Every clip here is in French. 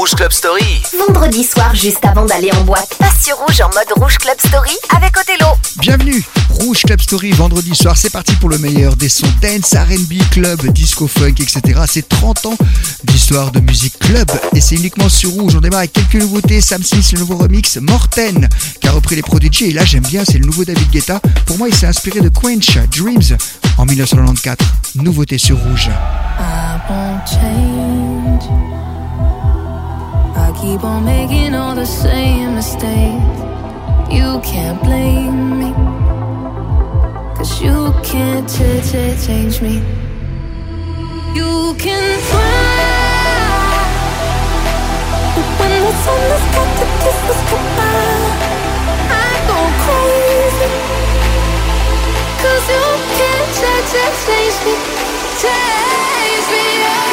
Rouge Club Story. Vendredi soir, juste avant d'aller en boîte, passe sur Rouge en mode Rouge Club Story avec Othello. Bienvenue, Rouge Club Story, vendredi soir, c'est parti pour le meilleur des sons dance, R&B, club, disco, funk, etc. C'est 30 ans d'histoire de musique club et c'est uniquement sur Rouge. On démarre avec quelques nouveautés. Sam Smith, le nouveau remix, Morten, qui a repris les Prodigy. Et là, j'aime bien, c'est le nouveau David Guetta. Pour moi, il s'est inspiré de Quench, Dreams, en 1994. Nouveauté sur Rouge. I won't change. I keep on making all the same mistakes. You can't blame me, 'cause you can't change me. You can try, but when the sun has got to kiss us goodbye, I go crazy, 'cause you can't change me. Change me, oh.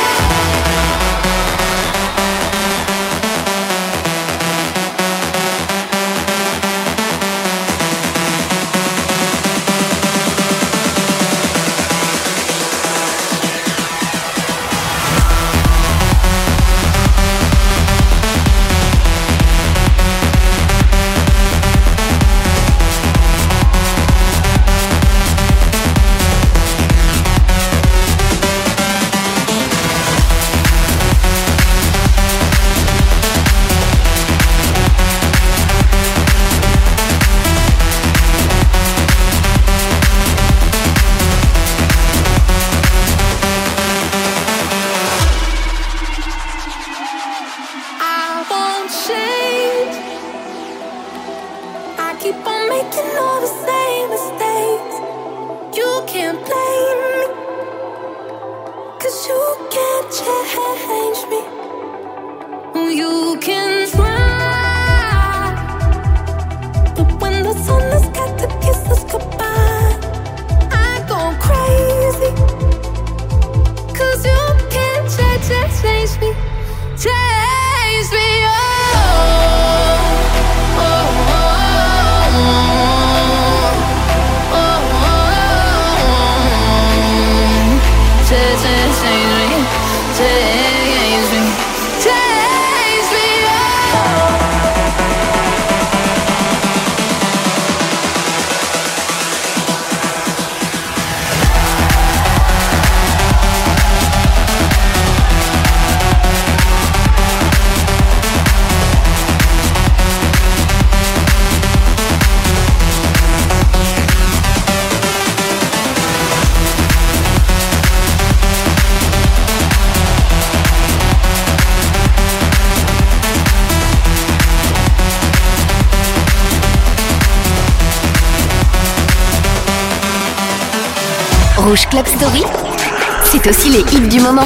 Rouge Club Story, c'est aussi les hits du moment.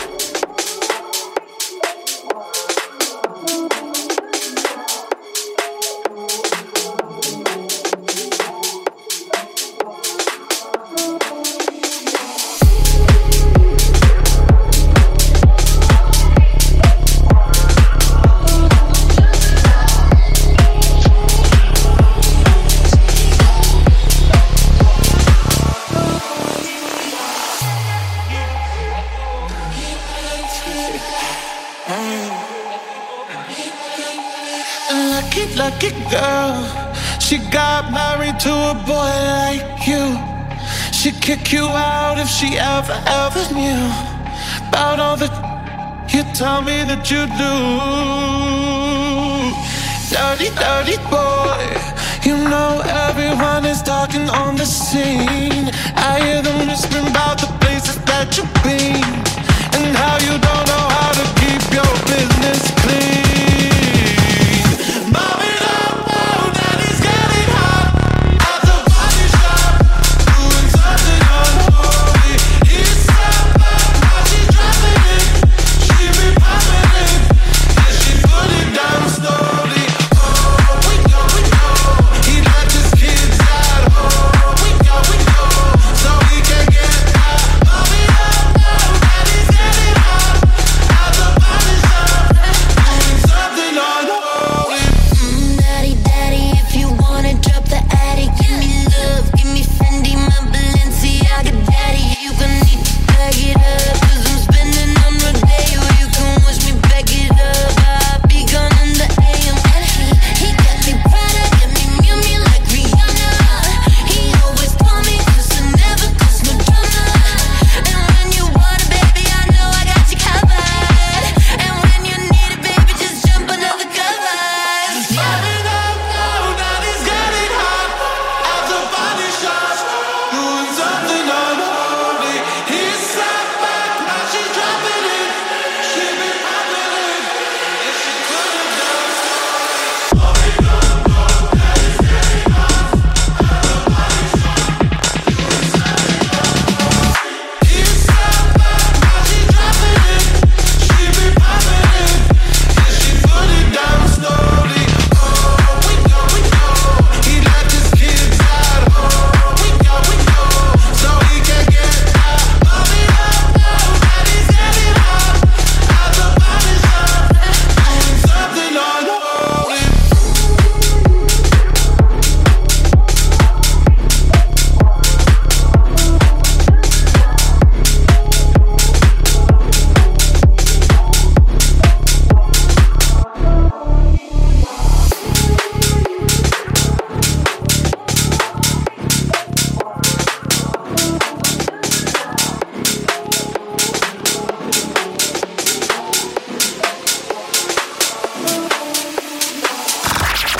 Lucky girl, she got married to a boy like you. She'd kick you out if she ever knew about all the you tell me that you do. Dirty boy, you know everyone is talking on the scene. I hear them whispering about the places that you've been and how you don't know how to keep your business clean.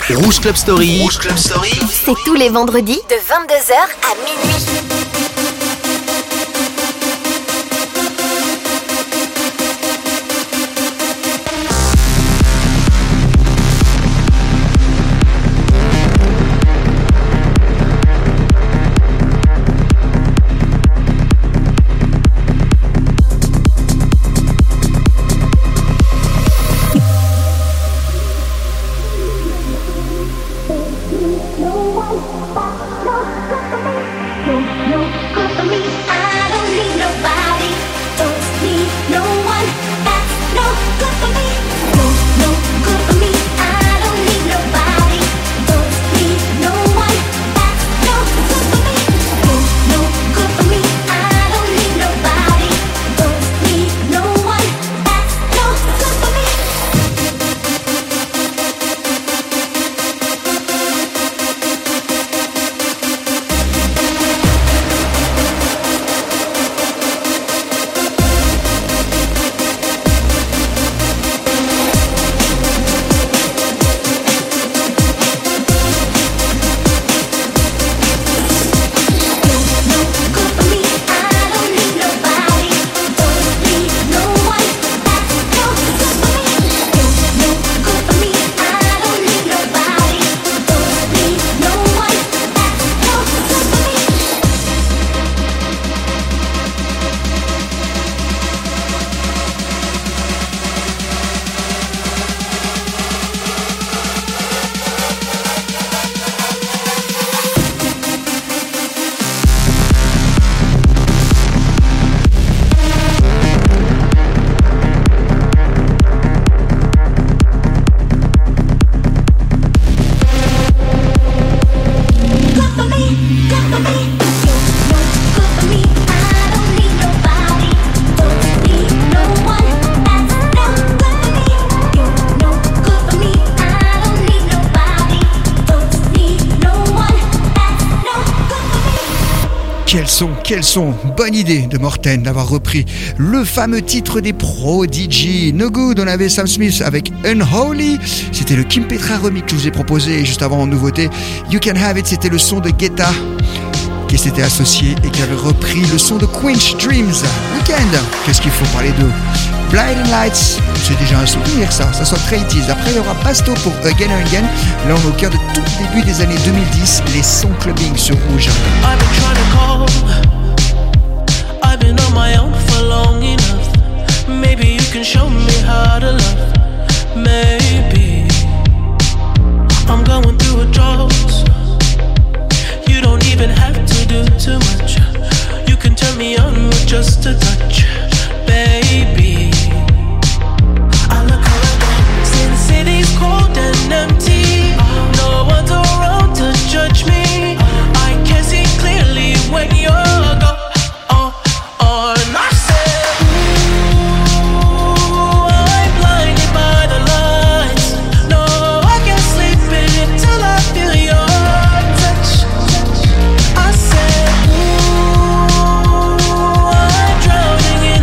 Rouge Club Story. Rouge Club Story. C'est tous les vendredis de 22h à minuit. Quel son, bonne idée de Morten d'avoir repris le fameux titre des Prodigy. No Good, on avait Sam Smith avec Unholy, c'était le Kim Petra remix que je vous ai proposé, et juste avant en nouveauté, You Can Have It, c'était le son de Guetta qui s'était associé et qui avait repris le son de Quench Dreams. Weekend, qu'est-ce qu'il faut parler de Blinding Lights, c'est déjà un souvenir ça sort très 80s. Après il y aura Basto pour Again and Again. Là on est au cœur de tout début des années 2010, les sons clubbing sur Rouge. I've been on my own for long enough. Maybe you can show me how to love. Maybe I'm going through a drought. You don't even have to do too much. You can turn me on with just a touch, baby. I look around since city's cold and empty. No one's around to judge me. I can see clearly when you're gone. Drowning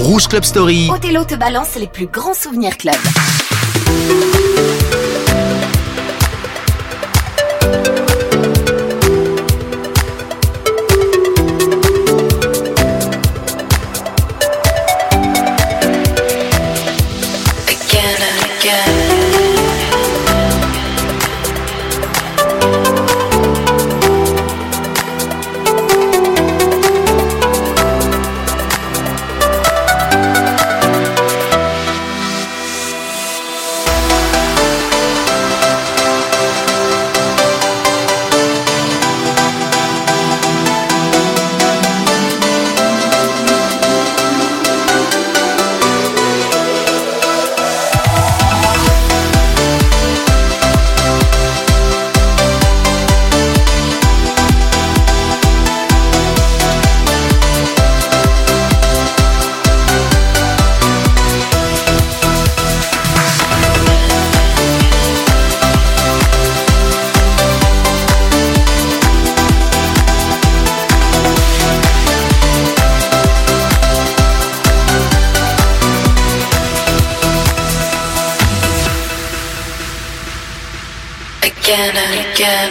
Rouge Club Story. Othello te balance les plus grands souvenirs club. Again and again.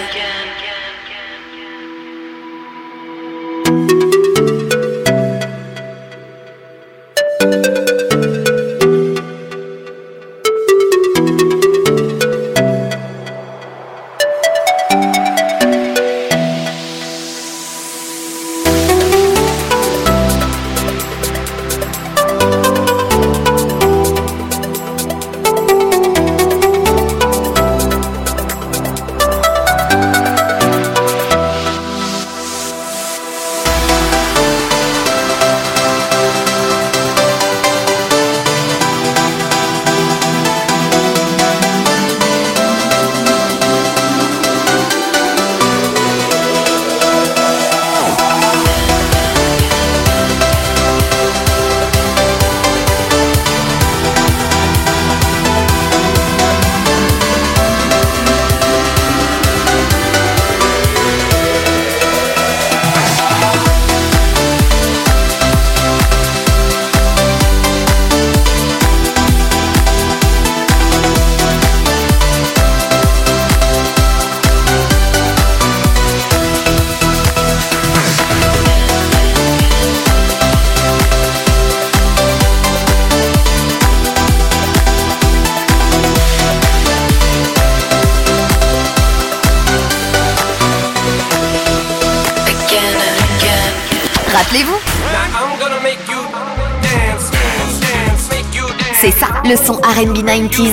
Rappelez-vous, c'est ça, le son R&B 90s.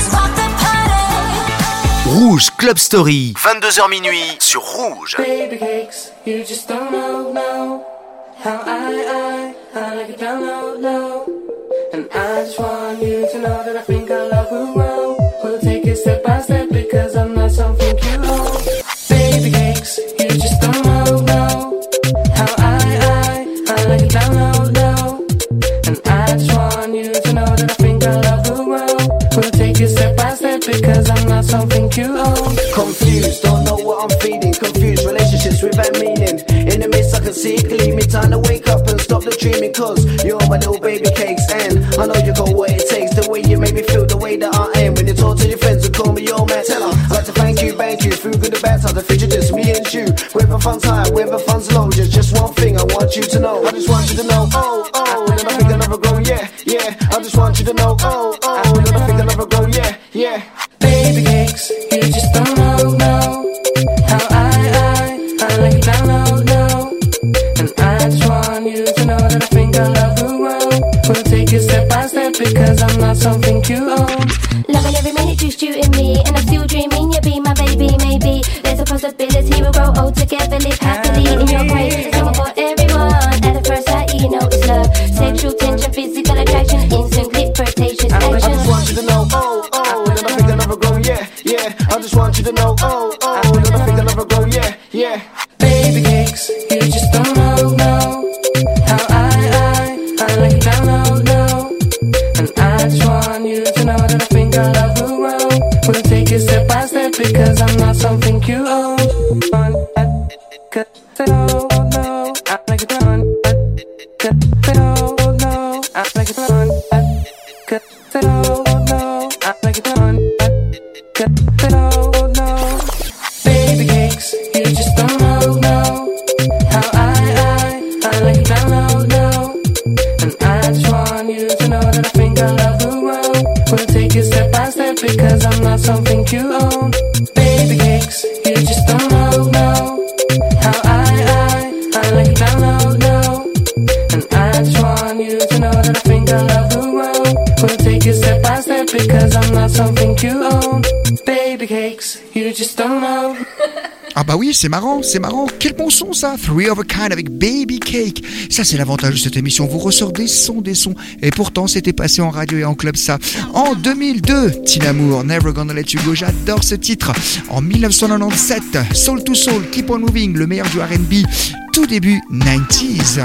Rouge Club Story, 22h minuit sur Rouge. Baby cakes, you just don't know how I like it down low. And I just want you to know that I think our love will grow. We'll take it step by step because I'm not something you own. Baby cakes, you just don't know how I like it down low. And I just want you to know that I think our love will grow. We'll take it step by step because I'm not something you own. Confused, don't know what I'm feeling. Confused relationships without meaning. In the midst I can see it clearly. Time to wake up and stop the dreaming. Cause you're my little baby cakes. And I know you got what it takes. The way you make me feel, the way that I am. When you talk to your friends and call me your man. Tell her, I'd like to thank you through good and bad times. The future just me and you. Whether fun's high, whether fun's low. Just one thing I want you to know. I just want you to know, oh. And I think I'll never grow, yeah. I just want you to know, oh. And I think I'll never grow, yeah. Baby cakes, you just don't know how I like it down low. And I just want you to know that I think our love will grow. We'll take it step by step because I'm not something you own. Loving every minute just you and me, and I'm still dreaming you'll be my baby. Maybe there's a possibility we'll grow old together, live happily in your grace. Someone for everyone. At the first sight, you know it's love. Sexual tension, physical attraction, instant click, flirtatious action. I just want you to know, oh. And I think I'll never grow, yeah. I just want you to know, oh. And I think I'll never grow, yeah. Baby cakes, you just don't know how I like it down low. And I just want you to know that I think our love will grow. We'll take it step by step because I'm not something you own. I like it down, no, I because I'm not something you own. Baby cakes, you just don't know how I like you down low, no. And I just want you to know that I think I love the world. We'll take it step by step because I'm not something you own. Baby cakes, you just don't know. Ah bah oui, c'est marrant. Quel bon son ça, Three of a Kind avec Baby Cake. Ça c'est l'avantage de cette émission, vous ressort des sons. Et pourtant c'était passé en radio et en club ça. En 2002, Tina Moore, Never Gonna Let You Go, j'adore ce titre. En 1997, Soul to Soul, Keep On Moving, le meilleur du R&B, tout début 90s.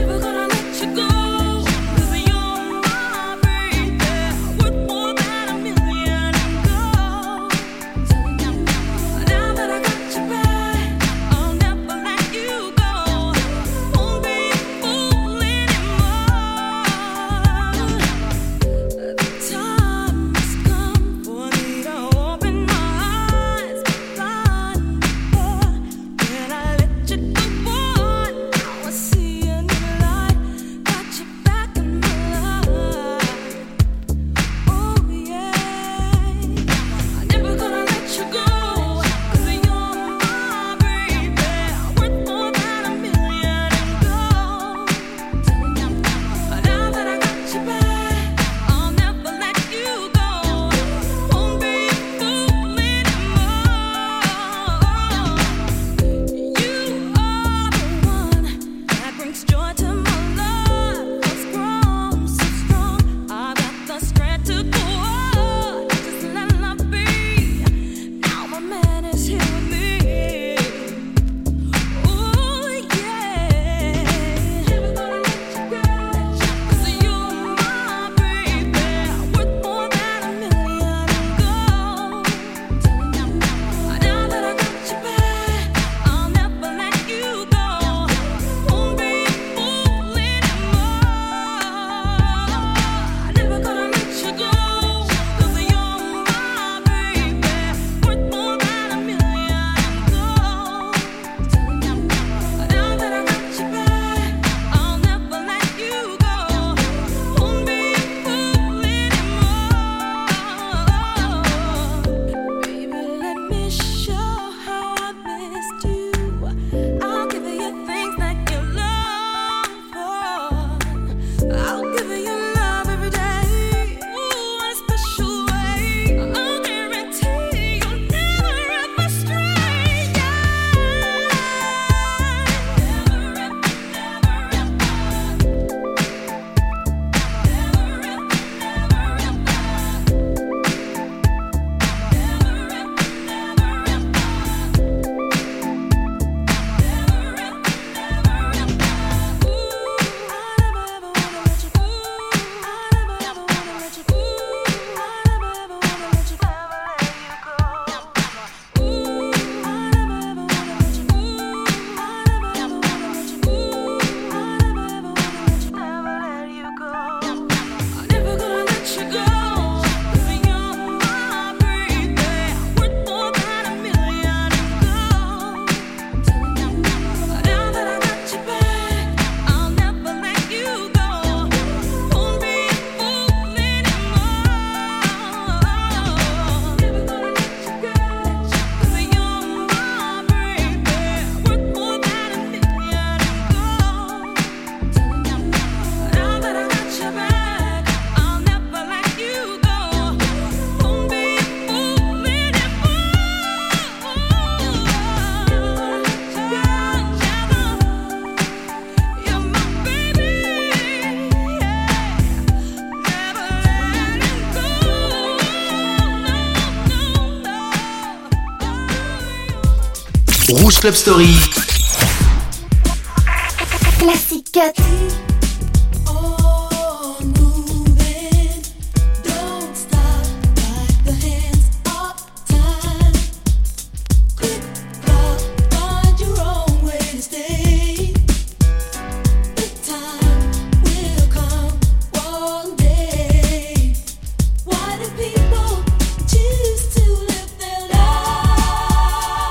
Rouge Club Story. Classic Cut.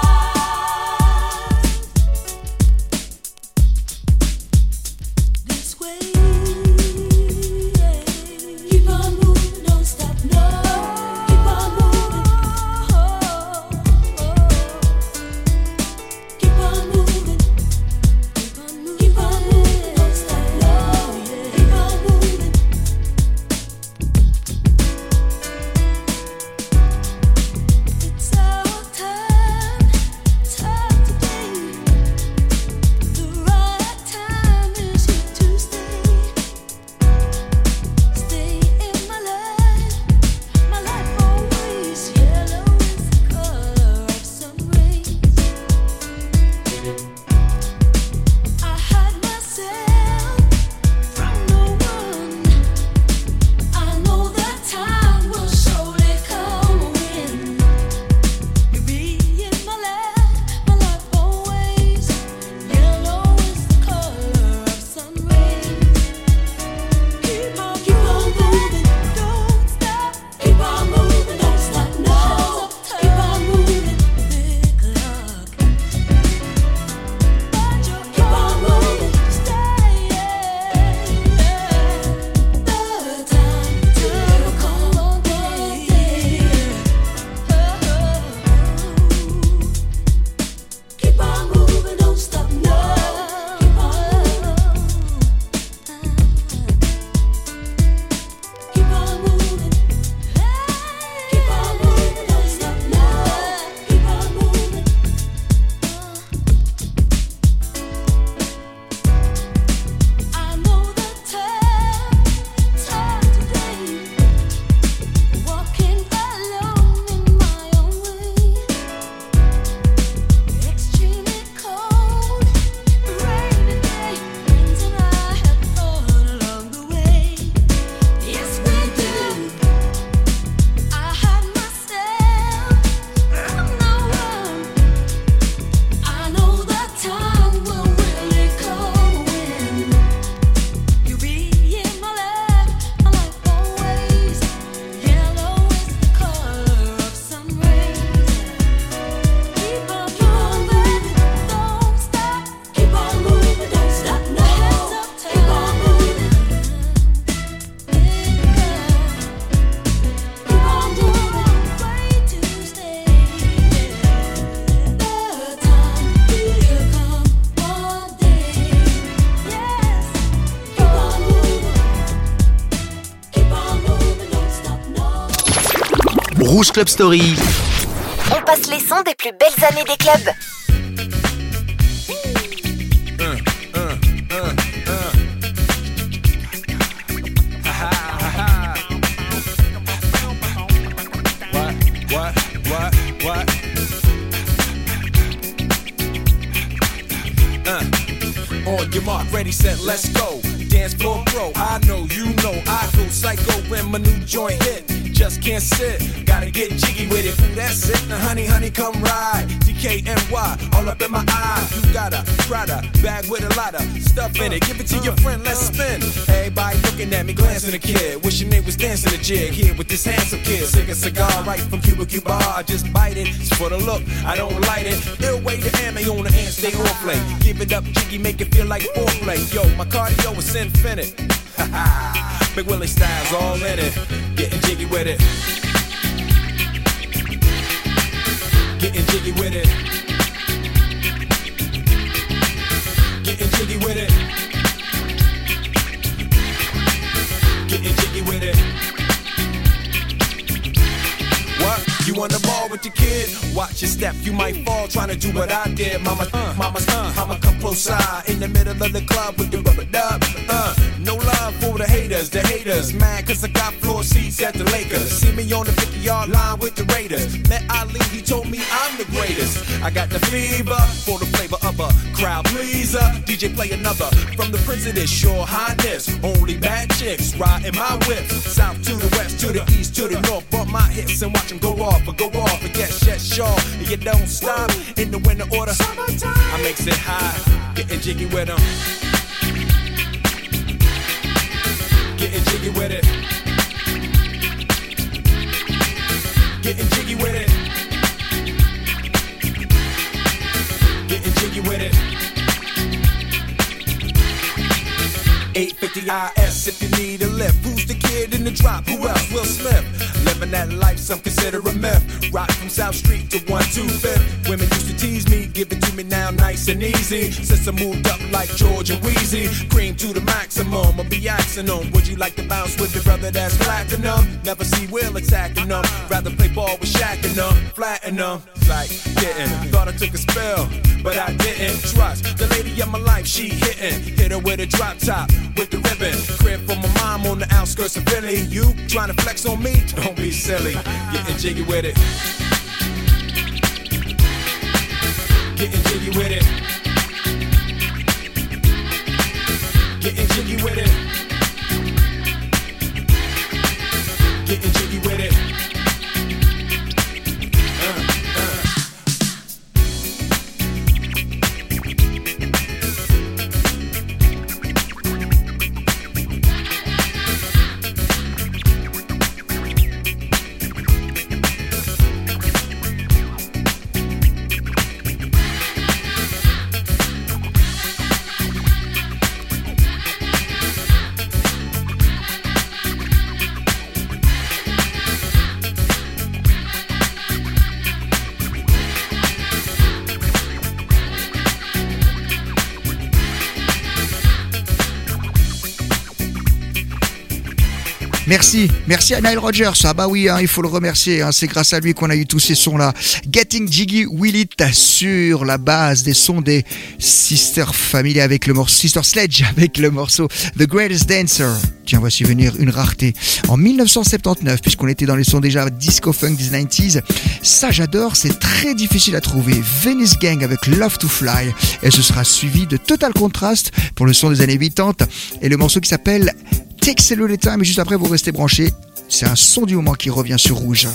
This Rouge Club Story. On passe les sons des plus belles années des clubs. On your mark, ready, set, let's go. Dance floor pro, I know, you know, I go psycho when my new joint hit. Just can't sit, gotta get jiggy with it. Ooh, that's it, now honey, honey, come ride. DKNY, all up in my eye. You got a Prada bag with a lot of stuff in it. Give it to your friend, let's spin. Everybody looking at me, glancing a kid. Wishing they was dancing a jig here with this handsome kid. Sick a cigar right from Cuba Cuba. I just bite it, it's for the look, I don't light it. Ill way to ammo on the hand, stay on play. Give it up, jiggy, make it feel like foreplay. Yo, my cardio is infinite. Big Willie style's all in it. Getting jiggy with it. Getting jiggy with it. Getting jiggy with it. Getting jiggy with it. What? You on the ball with your kid? Watch your step, you might fall trying to do what I did. Mama, I'ma come close side in the middle of the club with the rubber dub. No love for the haters, mad cause I got floor seats at the Lakers. See me on the 50-yard line with the Raiders. Met Ali, he told me I'm the greatest. I got the fever for the flavor of a crowd pleaser. DJ play another from the Prince of this Sure Highness. Only bad chicks riding my whip. South to the west, to the east, to the north. Bump my hips and watch them go off and get shit sure. And you don't stop in the winter order. I makes it high, getting jiggy with them. Getting jiggy with it. Getting jiggy with it. Getting jiggy with it. 850 IS if you need a lift. Who's the kid in the drop? Who else? Will Smith. Living that life, some consider a myth. Rock from South Street to 125th. Women used to tease me, give it to me now nice and easy. Since I moved up like George and Wheezy, cream to the maximum, I'll be axing them. Would you like to bounce with your brother that's platinum? Never see Will attacking them. Rather play ball with Shaq and them, flatten them. Like getting, thought I took a spell, but I didn't. Trust the lady of my life, she hitting. Hit her with a drop top, with the ribbon. Crib for my mom on the outskirts of Philly. You trying to flex on me? Don't be silly. Getting jiggy with it. Getting jiggy with it. Getting jiggy with it. Getting jiggy with it. Merci à Nile Rodgers. Ah bah oui, il faut le remercier, c'est grâce à lui qu'on a eu tous ces sons là. Getting Jiggy With It sur la base des sons des Sister Family avec le morceau Sister Sledge avec le morceau The Greatest Dancer. Tiens, voici venir une rareté. En 1979, puisqu'on était dans les sons déjà disco funk des 90s, ça j'adore, c'est très difficile à trouver. Venice Gang avec Love to Fly, et ce sera suivi de Total Contrast pour le son des années 80 et le morceau qui s'appelle Takes a Little Time, et juste après vous restez branchés, c'est un son du moment qui revient sur Rouge.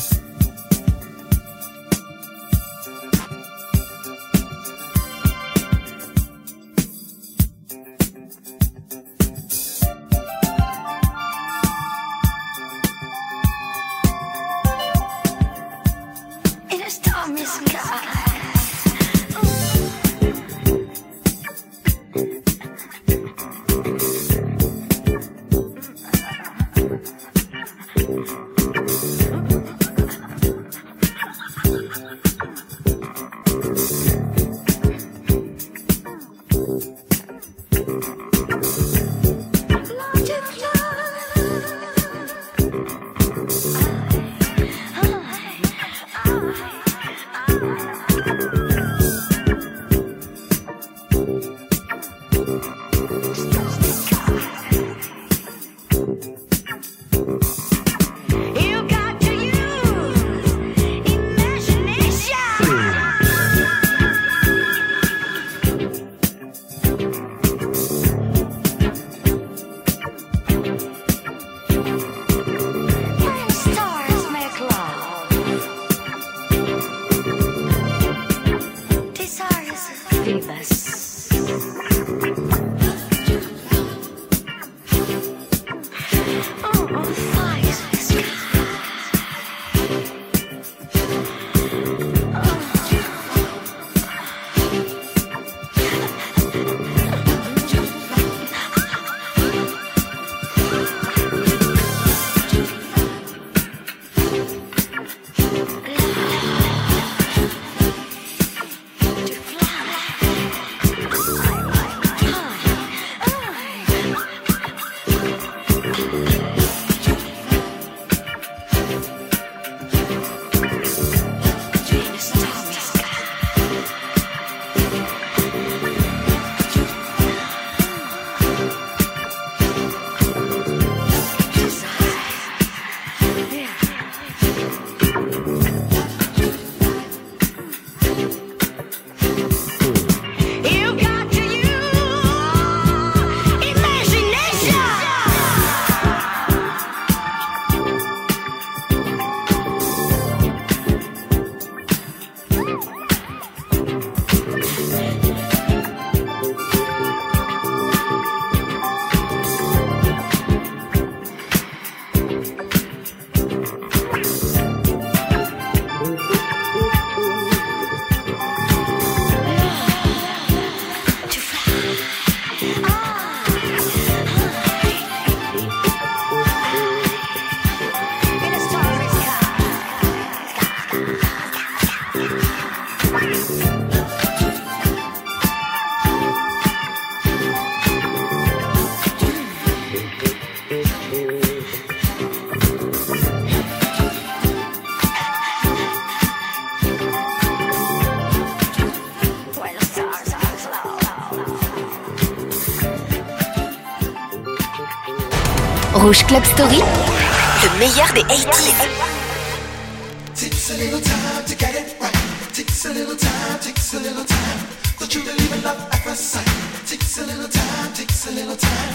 Rouge Club Story, le meilleur des 80s. Takes a little time to get it right. Takes a little time, takes a little time. Don't you believe in love at first sight? Takes a little time, takes a little time.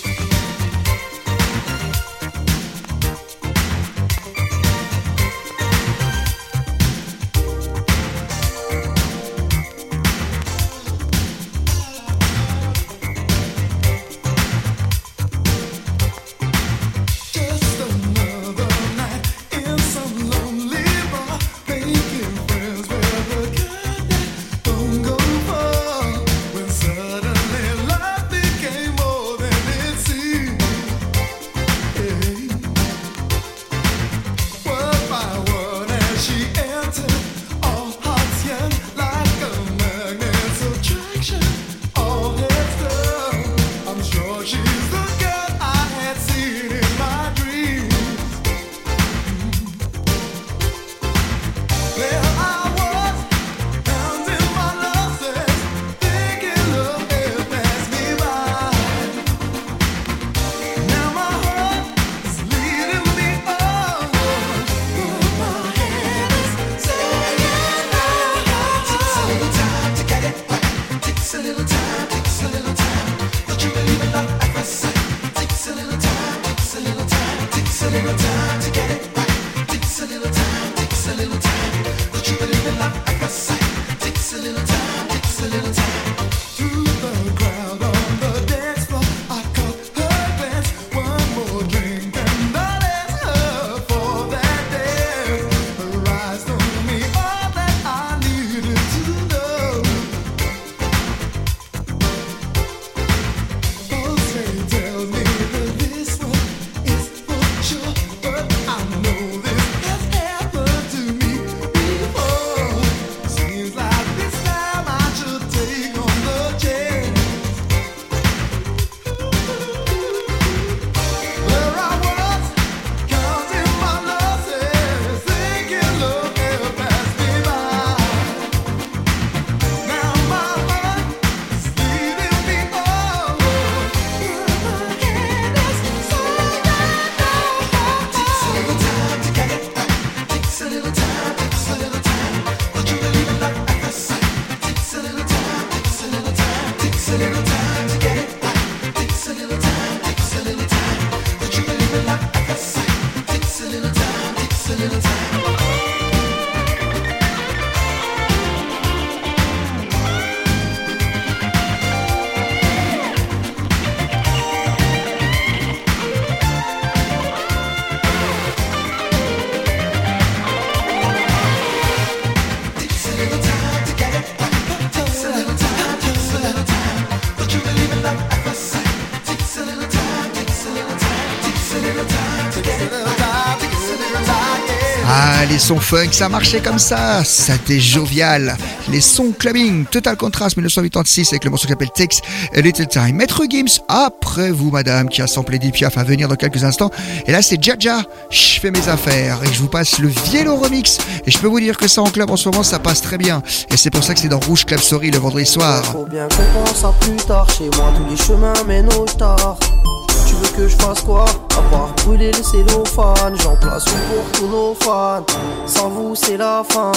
Ah, les sons funk, ça marchait comme ça, c'était jovial. Les sons clubbing, Total Contrast 1986 avec le morceau qui s'appelle Takes a Little Time. Maître Gims, après vous madame, qui a samplé Edith Piaf à venir dans quelques instants. Et là c'est Jaja, je fais mes affaires et je vous passe le Vielo Remix. Et je peux vous dire que ça en club en ce moment ça passe très bien. Et c'est pour ça que c'est dans Rouge Club Story le vendredi soir. Faut bien qu'on pense à plus tard, chez moi tous les chemins mènent au tard. Tu veux que je fasse quoi? À part brûler le cellophane. J'en place une pour tous nos fans. Sans vous c'est la fin.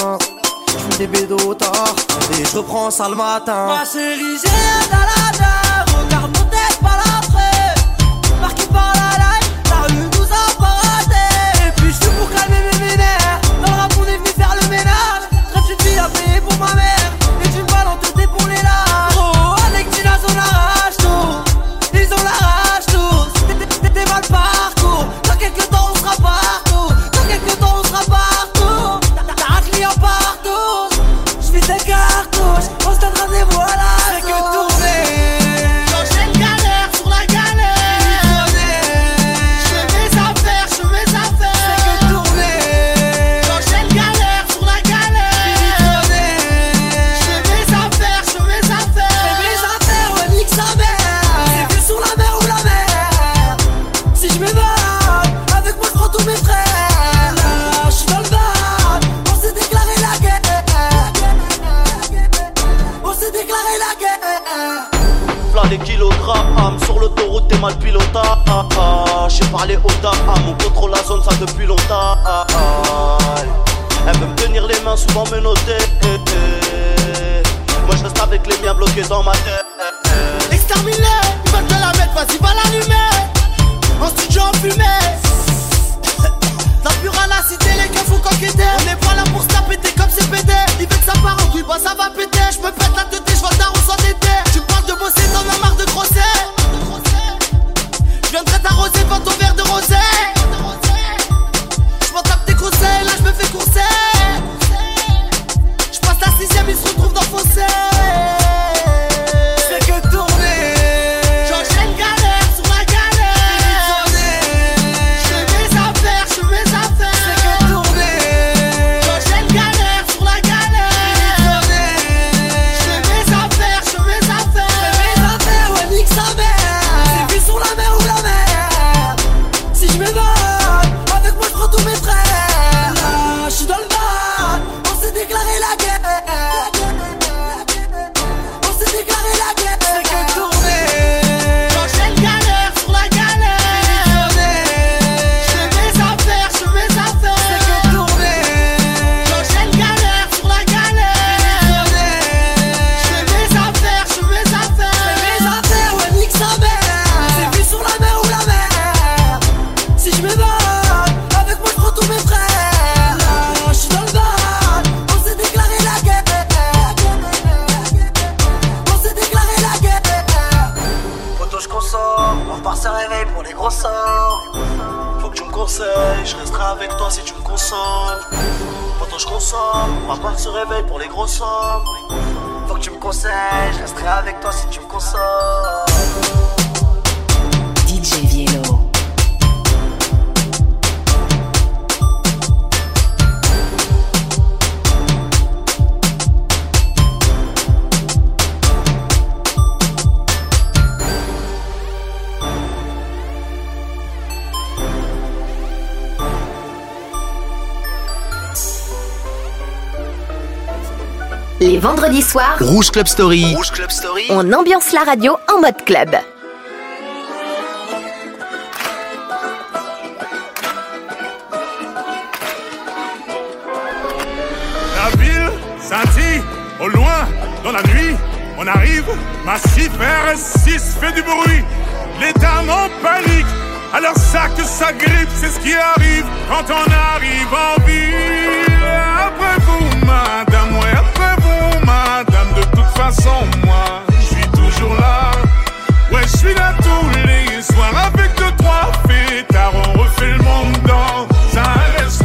Je fais des bédos tard et je reprends ça le matin. Ma chérie j'ai un dalada. Regarde mon tête par l'après. Marqué par la life, la rue nous a pas raté. Et puis je suis pour calmer mes vénères. Dans le rap on est venu faire le ménage. Rêve une fille à payer pour ma mère. Et tu me balles en tête pour les lâches. Oh avec Tina on arrache tout. Ils ont la rage tous. T'es mal parcours. Dans quelques temps on sera partout. Dans quelques temps on sera partout. T'as un client partout. J'vis des cartouches. On se donne rendez-vous à la. C'est que tourner. J'enchaîne t'as les kilogrammes. Sur l'autoroute t'es mal pilotable. J'ai parlé aux dames, on contrôle la zone ça depuis longtemps. Elle veut me tenir les mains, souvent me noter. Moi je reste avec les miens bloqués dans ma tête. Exterminé, ils veulent te la mettre, vas-y va l'allumer. En studio en fumée. La pure à la cité, les keufs font coqueter. On n'est pas là pour se la péter comme c'est pété. Ils veulent que ça part en couille, bah ça va péter. Je me pète la tête, je vois le daron s'endetter. Tu parles de bosser, t'en as marre de grosser. Je viendrai t'arroser par ton verre de rosé. Je m'en tape tes conseils, là je me fais courser. Je passe la 6ème, ils se retrouvent dans le fossé. C'est que tourner. J'enchaîne galère sur la galère. Je fais mes affaires, je fais mes affaires. C'est que tourner. J'enchaîne galère sur la galère. Je fais mes affaires, je fais mes affaires. Je fais mes affaires, ouais nique sa mère. C'est vu sur la mer ou la mer. Si je m'évade, avec moi je prends tous mes frères. Là, je suis dans le mal, on s'est déclaré la guerre. On s'est déclaré la guerre. C'est que tourner. J'enchaîne galère sur la galère. Je fais mes affaires, je fais mes affaires. C'est que tourner. J'enchaîne galère sur la galère. Je fais mes affaires, je fais mes affaires. Je fais mes affaires, ouais nique sa mère. C'est vu sur la mer ou la mer. Si je m'évade, avec moi je prends tous mes frères. Là, je suis dans le bal, on s'est déclaré la guerre. On s'est déclaré la guerre. Poto je consomme, on repart se réveille pour les gros sorts. Faut que tu me conseilles, je resterai avec toi si tu me consommes. Poto je consomme, on repart se réveille pour les gros sommes. Faut que tu me conseilles, je resterai avec toi si tu me consommes. DJ Viello. Les vendredis soirs, Rouge Club Story. on ambiance la radio en mode club. La ville scintille, au loin, dans la nuit, on arrive, massif RS6 fait du bruit, les dames en panique, alors ça que ça grippe, c'est ce qui arrive quand on arrive en ville. Après vous, madame, ouais, après vous, madame, de toute façon, moi, je suis toujours là, ouais, je suis là tous les soirs, avec 2-3 fêtards, on refait le monde dans un RS3.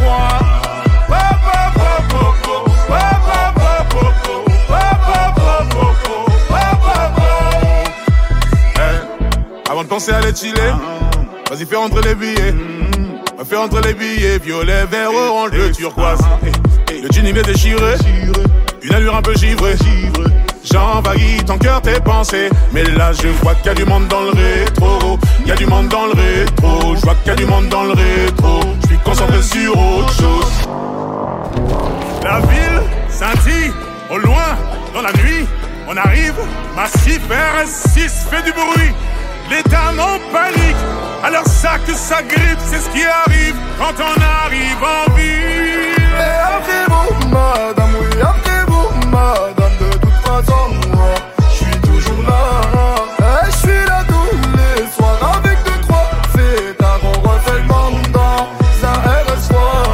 Avant de penser à les chiller, vas-y fais rentrer les billets. Fais rentrer les billets, violet, vert, orange, bleu, turquoise. Le jean il est déchiré, une allure un peu givrée. J'envahis ton cœur, tes pensées. Mais là je vois qu'il y a du monde dans le rétro. Il y a du monde dans le rétro. Je vois qu'il y a du monde dans le rétro. Je suis concentré sur autre chose. La ville scintille, au loin, dans la nuit, on arrive, massif RS6 fait du bruit, les dames en panique, alors ça que ça grippe, c'est ce qui arrive quand on arrive en ville. Et après vous, madame, oui, après vous, madame, de toute façon, moi, je suis toujours là. Et je suis là tous les soirs, avec 2-3 fêtards, on refait le monde dans un RS3.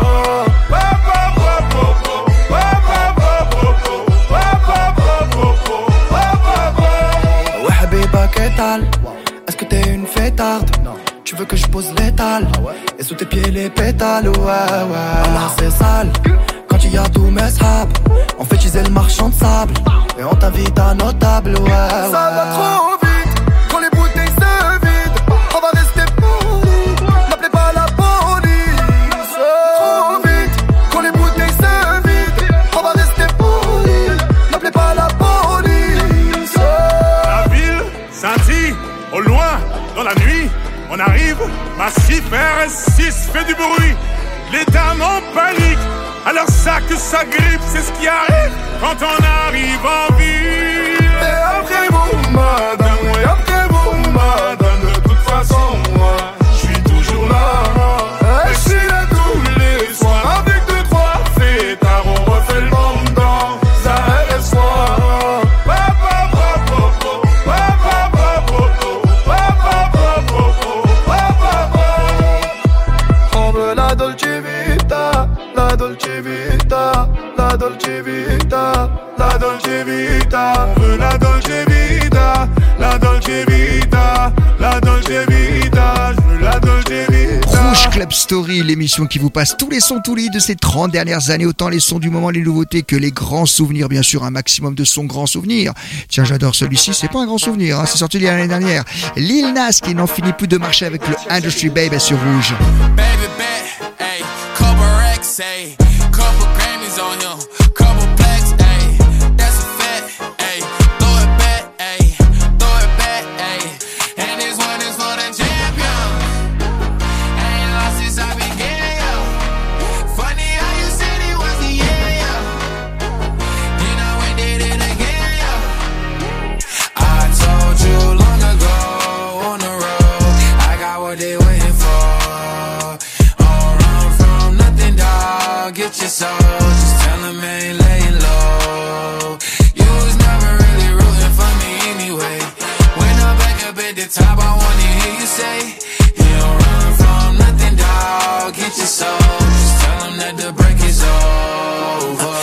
Ouais Habiba, qu'est-ce est-ce que t'es une fêtarde? Non. Tu veux que je pose l'étal? Et sous tes pieds les pétales? Ouais, alors c'est sale. Quand il y a tous mes sables, on fait utiliser le marchand de sable. Et on t'invite à nos tables, ouais. Ça va trop vite, quand les bouteilles se vident, on va rester polis. N'appelez pas la police. Trop vite, quand les bouteilles se vident, on va rester polis. N'appelez pas la police. La ville scintille, au loin, dans la nuit, on arrive, massif RS6 fait du bruit, les dames en panique, alors ça que ça grippe, c'est ce qui arrive quand on arrive en ville. Et après vous, madame, oui, la Dolce Vita, la Dolce Vita. On veut la Dolce Vita, la Dolce Vita, la Dolce Vita. Je veux la Dolce Vita. Rouge Club Story, l'émission qui vous passe tous les sons, tous les de ces 30 dernières années, autant les sons du moment, les nouveautés que les grands souvenirs, bien sûr, un maximum de sons grands souvenirs. Tiens, j'adore celui-ci, c'est pas un grand souvenir, hein, c'est sorti l'année dernière. Lil Nas qui n'en finit plus de marcher avec le Industry Baby sur Rouge. Baby bet, ayy, couple racks, ayy, couple Grammys on him, couple plaques, ayy, that's a fact, ayy, throw it back, ayy, throw it back, ayy, and this one is for the champion. Ain't lost since I began, yo. Funny how you said it was the year, yo. Then I went did it again, yo. I told you long ago on the road, I got what they waiting for. Get your soul, just tell him I ain't laying low. You was never really rooting for me anyway. When I'm back up at the top, I wanna hear you say, you don't run from nothing, dawg. Get your soul, just tell him that the break is over.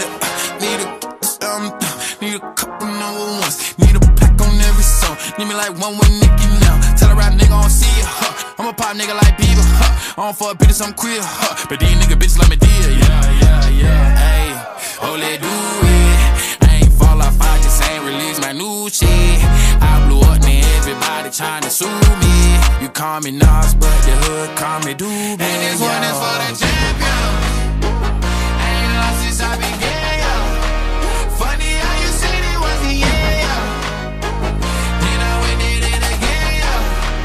Need a couple number ones. Need a pack on every song. Need me like one with Nicki now. Tell a rap nigga I don't see ya, huh. I'm a pop nigga like Bieber, huh. I don't fuck bitches, I'm queer, huh. But these nigga bitches let me deal, yeah. Ayy, oh, let do it. I ain't fall off, I just ain't release my new shit. I blew up, man, everybody tryna sue me. You call me Nas, but the hood call me Doobie. And this one is for the champion. Ain't lost since I began, yo. Funny how you said it was the year, yo. Then I went did it again, yo.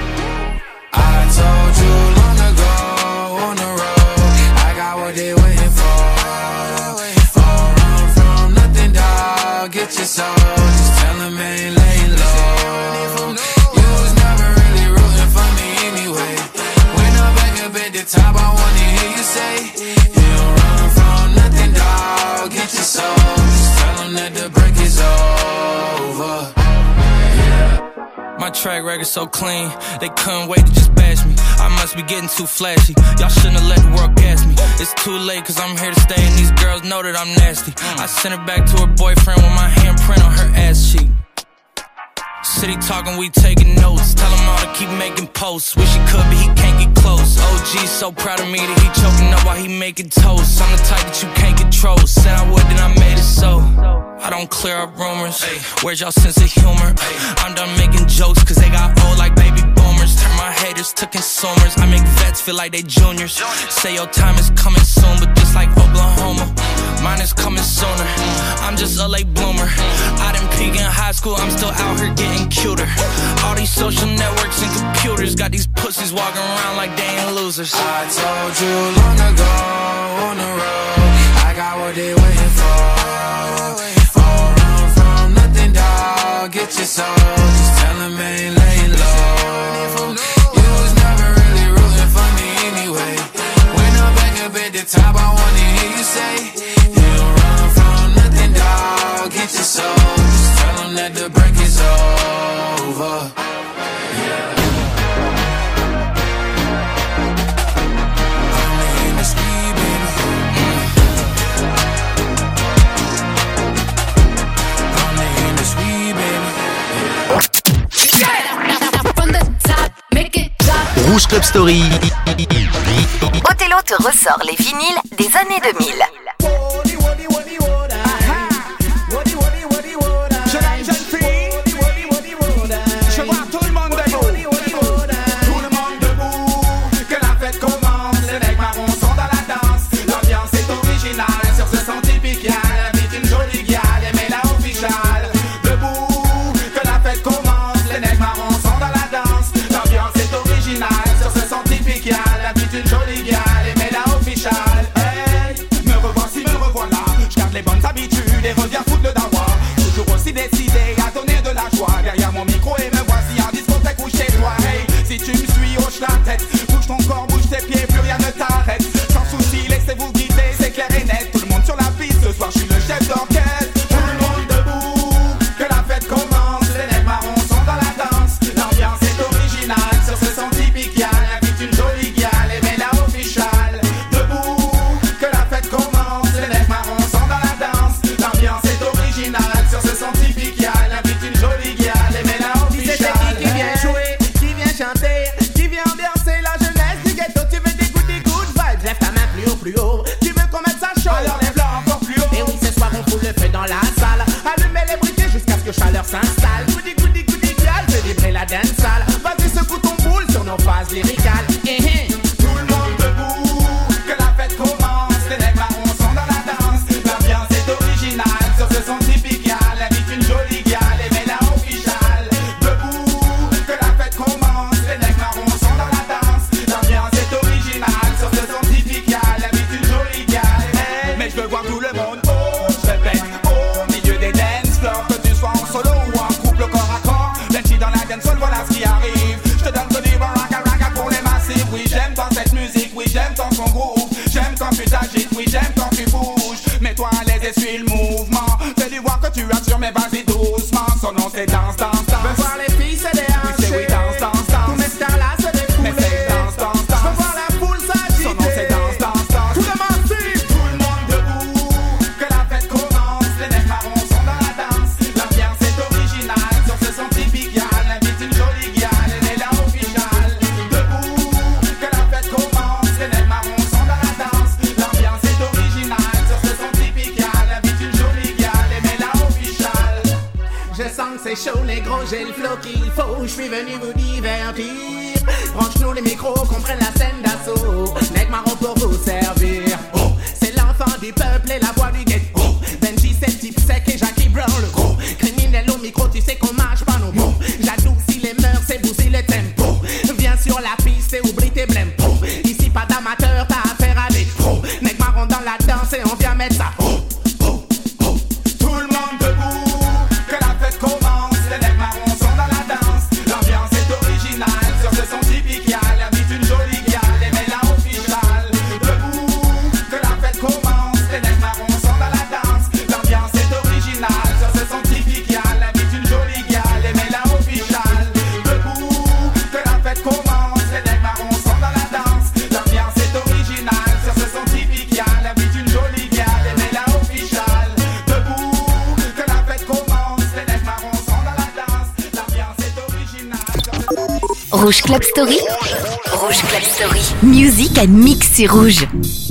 I told you long ago on the road, I got what they waiting for. Don't run from nothing, dawg. Get your soul, just tell them I ain't laying low. You was never really rooting for me anyway. When I'm back up at the top, I wanna hear you say, you don't run from nothing, dawg. Get your soul, just tell them that the break is over. My track record so clean, they couldn't wait to just bash me. I must be getting too flashy, y'all shouldn't have let the world gas me. It's too late cause I'm here to stay and these girls know that I'm nasty. I sent her back to her boyfriend with my handprint on her ass cheek. City talking, we taking notes. Tell him all to keep making posts. Wish he could, but he can't get close. OG so proud of me that he choking up while he making toast. I'm the type that you can't control. Said I would, then I made it so. I don't clear up rumors. Where's y'all sense of humor? I'm done making jokes cause they got old like baby boomers. Turn my haters to consumers. I make vets feel like they juniors. Say your time is coming soon, but just like Oklahoma, mine is coming sooner. I'm just a late bloomer. I didn't peak in high school, I'm still out here getting cuter. All these social networks and computers got these pussies walking around like they ain't losers. I told you long ago on the road, I got what they waiting for. Don't run from nothing, dawg. Get your soul, just tell them I ain't laying low. You was never really rooting for me anyway. When I'm back up at the top, I wanna hear you say, you don't run from nothing, dawg. Get your soul, just tell them that the break is over. Rouge Club Story. Othello te ressort les vinyles des années 2000. Me revoilà monde. Oh, je répète, au milieu des dance floors, que tu sois en solo ou en couple corps à corps. Let's dans la dancehall, voilà ce qui arrive. Je te donne que du bon raga pour les massifs. Oui, j'aime tant cette musique, oui, j'aime tant son groove. J'aime quand tu t'agites, oui, j'aime quand tu bouges. Mets-toi à l'aise et suis le mouvement. Fais-lui voir que tu assures, mais vas-y doucement. Son nom c'est danse, danse, danse. Veux voir les filles se déhancher. Oui, c'est oui, danse, danse, danse. Tous mes stars là se défouler. Mais c'est danse, danse, danse. Veux voir la foule s'agiter. Son nom c'est danse, danse, danse. Tout le massif. Tout le monde debout, que la fête commence. Les nègres marrons sont dans la danse. L'ambiance est originale, sur ce son typique. Y'all invite une jolie gueule, elle est là officiale. Debout, que la fête commence. Les nègres marrons sont dans la danse. L'ambiance est originale, sur ce son typique. Y'all invite une jolie gueule, elle est là officiale. Je sens que c'est chaud, négro, j'ai le flow qu'il faut. Je suis venu vous divertir. Branche-nous les micros, qu'on prenne la scène d'assaut. Nègre marron pour vous servir. Oh, c'est l'enfant du peuple et la voix du ghetto. Oh, Benji, c'est le type sec et Jackie Brown le gros. Criminel au micro, tu sais qu'on marche pas nos mots. J'adoucis les mœurs et bousille les tempos. Viens sur la piste et oublie tes blèmes. Oh, ici pas d'amateur, t'as affaire à des pros. Nègre marron dans la danse et on vient mettre ça. Oh, tout le monde debout, que la fête commence. Les nègres marrons sont dans la danse. L'ambiance est originale, sur ce son typique. Y'all invite une jolie gueule, et met la officiale. Debout, que la fête commence. Les nègres marrons sont dans la danse. L'ambiance est originale, sur ce son typique. Y'all invite une jolie gueule, et met la officiale. Debout, que la fête commence. Les nègres marrons sont dans la danse. L'ambiance est originale, sur ce son typique. Y'all invite une jolie gueule, et met la officiale. Debout, que la fête commence. Les nègres marrons sont dans la danse. L'ambiance est originale. Rouge Club Story. Rouge Club Story. Music and mix sur Rouge.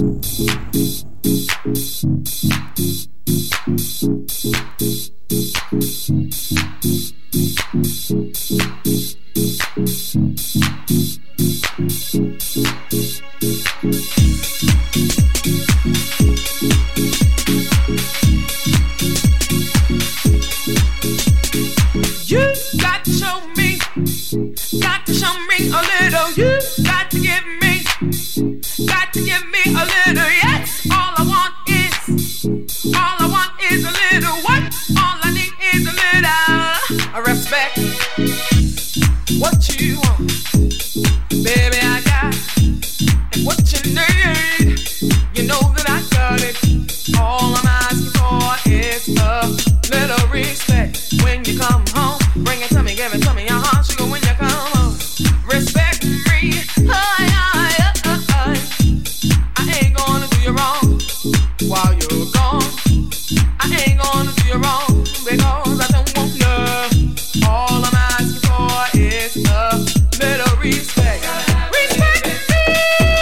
You got to show me a little. You got to give me a little. Yes, all I want is a little. What? All I need is a little. I respect what you want, baby. I got what you need. You know that I got it. All I'm asking for is a little respect. When you come home, bring it to me, give it to me. Your heart sugar when you come home. Respect me. I ain't gonna do you wrong while you're gone. I ain't gonna do you wrong because I don't want you. All I'm asking for is a little respect. Respect me.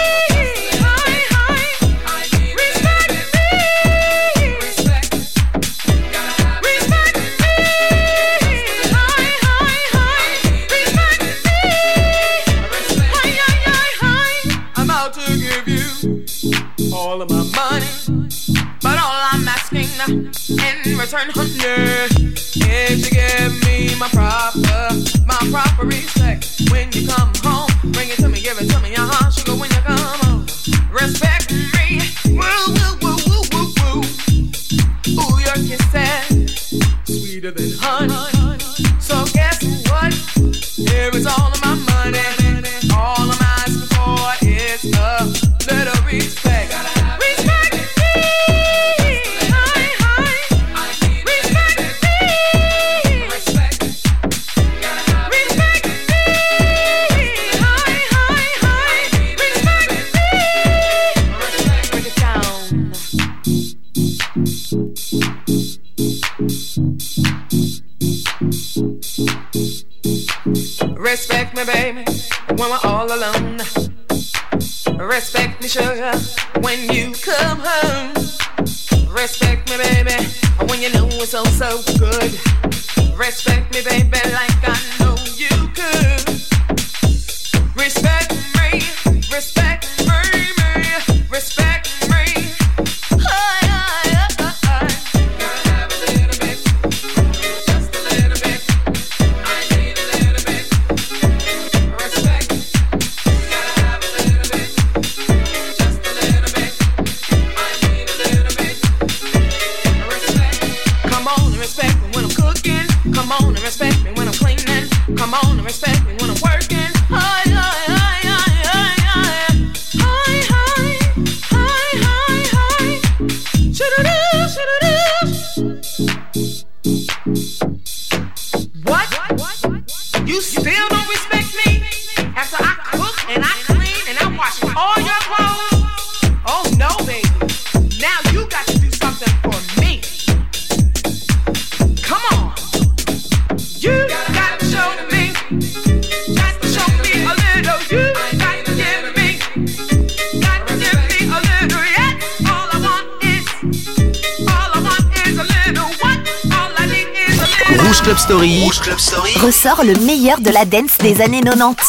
Respect me. Respect I'm out to give you all of my money, but all I'm asking in return, honey, is to give me my proper respect. When you come home, bring it to me, give it to me. Your heart sugar when you come home. Respect me. Woo, woo, woo, woo, woo, woo. Ooh, your kisses sweeter than honey. So guess what? Here is all of my money. All I'm asking for is a little respect. Respect me. Respect me. Respect. Respect me. Respect me. Break it down. Respect me, baby, when we're all alone. Respect me, sugar, when you come home. Respect me, baby, when you know it's so, so good. Respect me, baby, like I know you could. Respect me, respect me, respect me. Come on and respect me when I'm working. Hi, hi, hi, hi, hi, hi. Hi, hi, hi, hi, hi. Shoo-doo-doo, shoo-doo-doo. What? You still don't respect me? After I cook and I clean and I wash all your clothes? Oh no, baby. Now you got to do something for me. Come on. You got to show me. Just to show me a little. You got to give me. Got to give me a little. Yeah. All I want is a little. What? All I need is a little. Rouge Club Story. Rouge Club Story. Ressort le meilleur de la dance des années 90.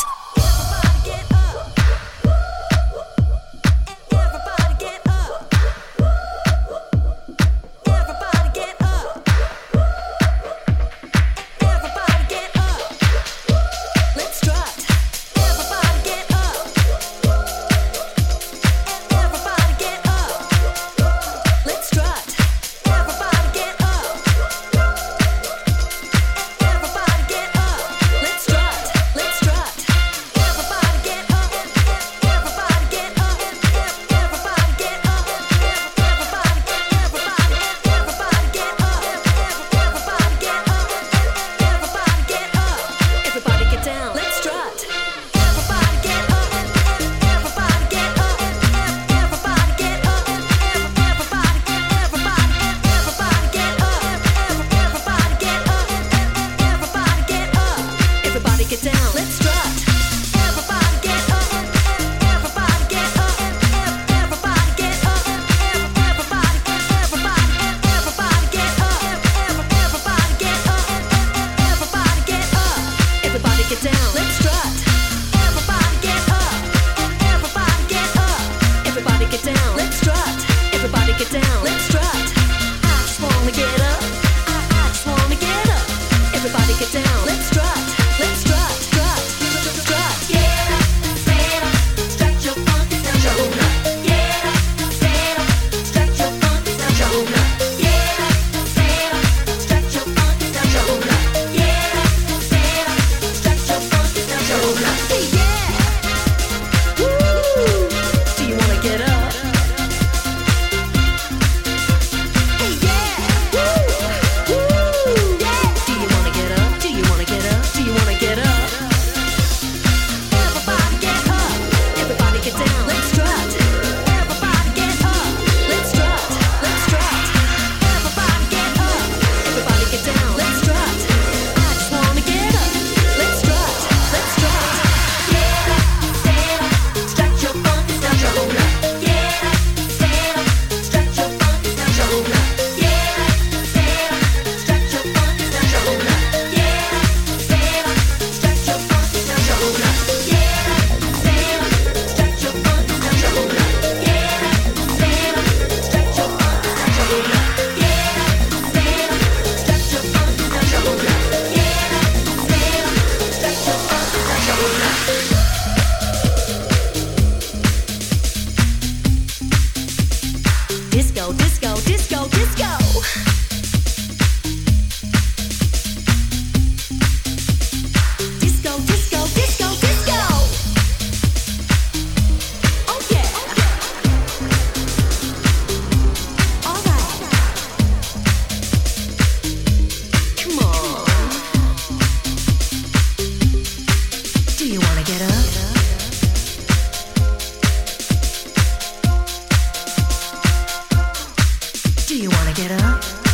Do you wanna get up?